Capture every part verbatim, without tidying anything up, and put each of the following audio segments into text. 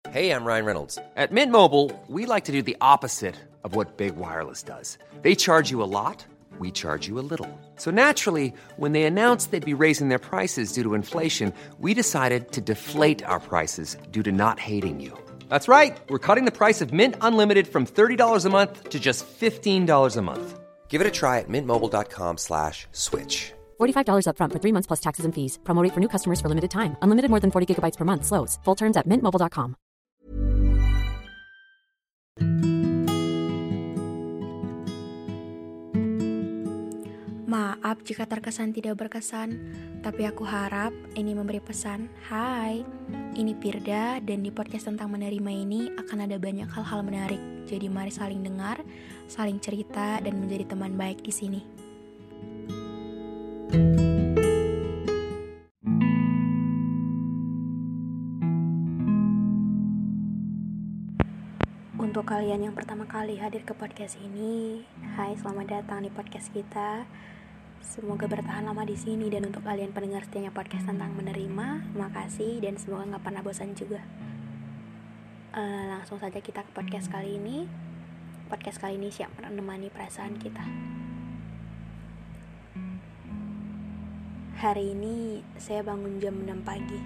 Hey, I'm Ryan Reynolds. At Mint Mobile, we like to do the opposite of what Big Wireless does. They charge you a lot, we charge you a little. So naturally, when they announced they'd be raising their prices due to inflation, we decided to deflate our prices due to not hating you. That's right. We're cutting the price of Mint Unlimited from thirty dollars a month to just fifteen dollars a month. Give it a try at mintmobile.com slash switch. forty-five dollars up front for three months plus taxes and fees. Promo rate for new customers for limited time. Unlimited more than forty gigabytes per month slows. Full terms at mint mobile dot com. Maaf jika terkesan tidak berkesan, tapi aku harap ini memberi pesan. Hai, ini Firda dan di podcast tentang menerima ini akan ada banyak hal-hal menarik. Jadi mari saling dengar, saling cerita dan menjadi teman baik di sini. Untuk kalian yang pertama kali hadir ke podcast ini, hai, selamat datang di podcast kita. Semoga bertahan lama di sini, dan untuk kalian pendengar setianya podcast tentang menerima, makasih dan semoga nggak pernah bosan juga. Uh, langsung saja kita ke podcast kali ini. Podcast kali ini siap menemani perasaan kita. Hari ini saya bangun jam enam pagi.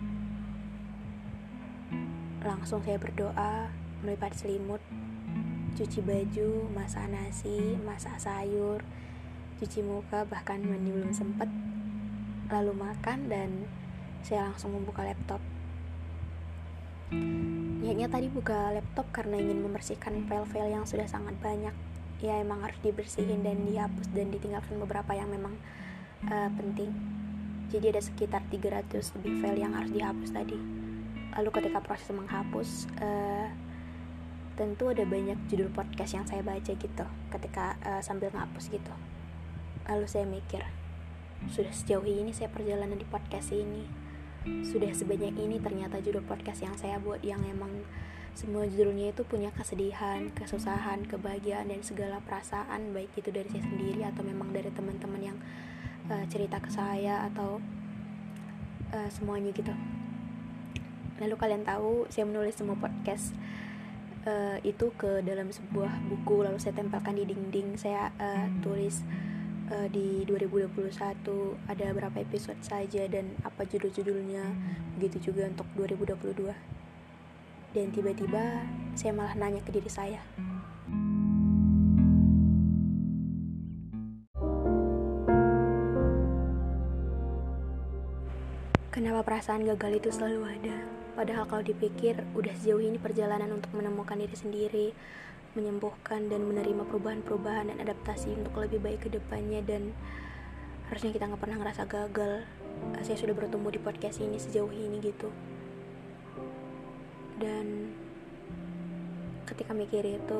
Langsung saya berdoa, melipat selimut, cuci baju, masak nasi, masak sayur, cuci muka, bahkan mandi belum sempet, lalu makan, dan saya langsung membuka laptop. Niatnya tadi buka laptop karena ingin membersihkan file-file yang sudah sangat banyak. Ya emang harus dibersihin dan dihapus dan ditinggalkan beberapa yang memang uh, penting. Jadi ada sekitar tiga ratus lebih file yang harus dihapus tadi. Lalu ketika proses menghapus, uh, tentu ada banyak judul podcast yang saya baca gitu ketika uh, sambil ngapus gitu. Lalu saya mikir, sudah sejauh ini saya perjalanan di podcast ini, sudah sebanyak ini ternyata judul podcast yang saya buat, yang emang semua judulnya itu punya kesedihan, kesusahan, kebahagiaan, dan segala perasaan, baik itu dari saya sendiri atau memang dari teman-teman yang uh, cerita ke saya atau uh, semuanya gitu. Lalu kalian tahu saya menulis semua podcast uh, itu ke dalam sebuah buku, lalu saya tempelkan di dinding. Saya uh, tulis Uh, di dua ribu dua puluh satu ada berapa episode saja dan apa judul-judulnya, begitu juga untuk dua ribu dua puluh dua. Dan tiba-tiba saya malah nanya ke diri saya, kenapa perasaan gagal itu selalu ada? Padahal kalau dipikir udah sejauh ini perjalanan untuk menemukan diri sendiri, menyembuhkan dan menerima perubahan-perubahan dan adaptasi untuk lebih baik ke depannya, dan harusnya kita gak pernah ngerasa gagal. Saya sudah bertumbuh di podcast ini sejauh ini gitu. Dan ketika mikir itu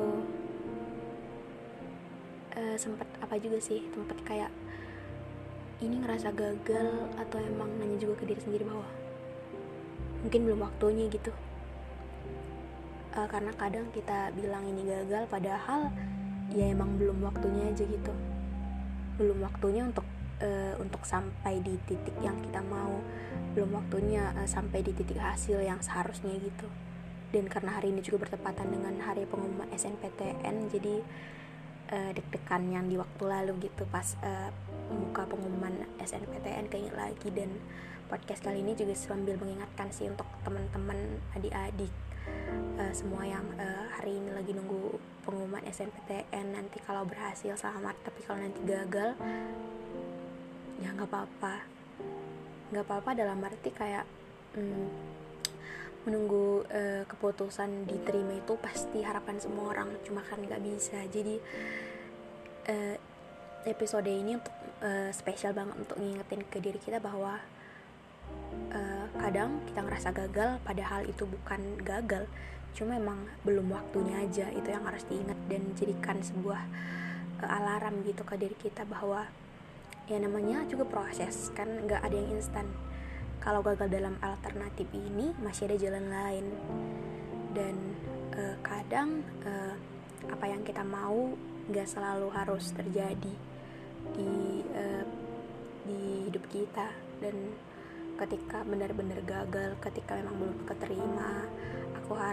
uh, sempat apa juga sih, sempat kayak ini ngerasa gagal atau emang nanya juga ke diri sendiri bahwa mungkin belum waktunya gitu. Uh, karena kadang kita bilang ini gagal, padahal ya emang belum waktunya aja gitu, belum waktunya untuk uh, untuk sampai di titik yang kita mau, belum waktunya uh, sampai di titik hasil yang seharusnya gitu. Dan karena hari ini juga bertepatan dengan hari pengumuman S N P T N, jadi uh, deg-degan yang di waktu lalu gitu pas uh, membuka pengumuman S N P T N keinget lagi. Dan podcast kali ini juga sambil mengingatkan sih untuk teman-teman, adik-adik, Uh, semua yang uh, hari ini lagi nunggu pengumuman S N P T N. Nanti kalau berhasil selamat, tapi kalau nanti gagal ya nggak apa-apa, nggak apa-apa dalam arti kayak hmm, menunggu uh, keputusan diterima itu pasti harapan semua orang, cuma kan nggak bisa. Jadi uh, episode ini untuk uh, spesial banget untuk ngingetin ke diri kita bahwa Uh, kadang kita ngerasa gagal padahal itu bukan gagal, cuma emang belum waktunya aja. Itu yang harus diingat dan jadikan sebuah uh, alarm gitu ke diri kita bahwa ya namanya juga proses, kan gak ada yang instan. Kalau gagal dalam alternatif ini masih ada jalan lain. Dan uh, kadang uh, apa yang kita mau gak selalu harus terjadi di uh, di hidup kita. Dan ketika benar-benar gagal, ketika memang belum keterima, aku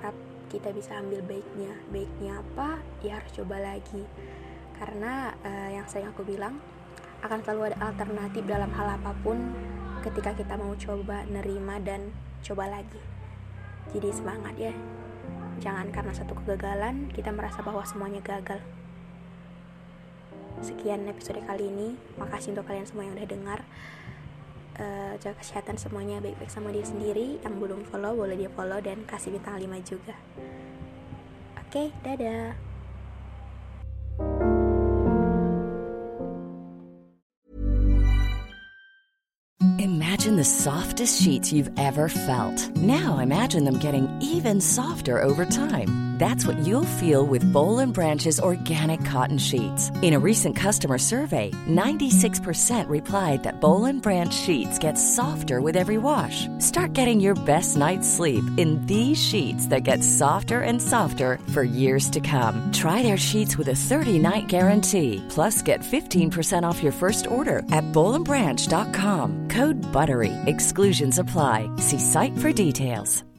harap kita bisa ambil baiknya. Baiknya apa? Ya harus coba lagi. Karena uh, yang sering aku bilang, akan selalu ada alternatif dalam hal apapun ketika kita mau coba, nerima, dan coba lagi. Jadi semangat ya. Jangan karena satu kegagalan kita merasa bahwa semuanya gagal. Sekian episode kali ini. Makasih untuk kalian semua yang udah dengar. Uh, jaga kesehatan semuanya, baik-baik sama diri sendiri. Yang belum follow boleh dia follow dan kasih bintang lima juga. Oke, dadah. Imagine the softest sheets you've ever felt. Now imagine them getting even softer over time. That's what you'll feel with Boll and Branch's organic cotton sheets. In a recent customer survey, ninety-six percent replied that Boll and Branch sheets get softer with every wash. Start getting your best night's sleep in these sheets that get softer and softer for years to come. Try their sheets with a thirty-night guarantee. Plus, get fifteen percent off your first order at boll and branch dot com. Code BUTTERY. Exclusions apply. See site for details.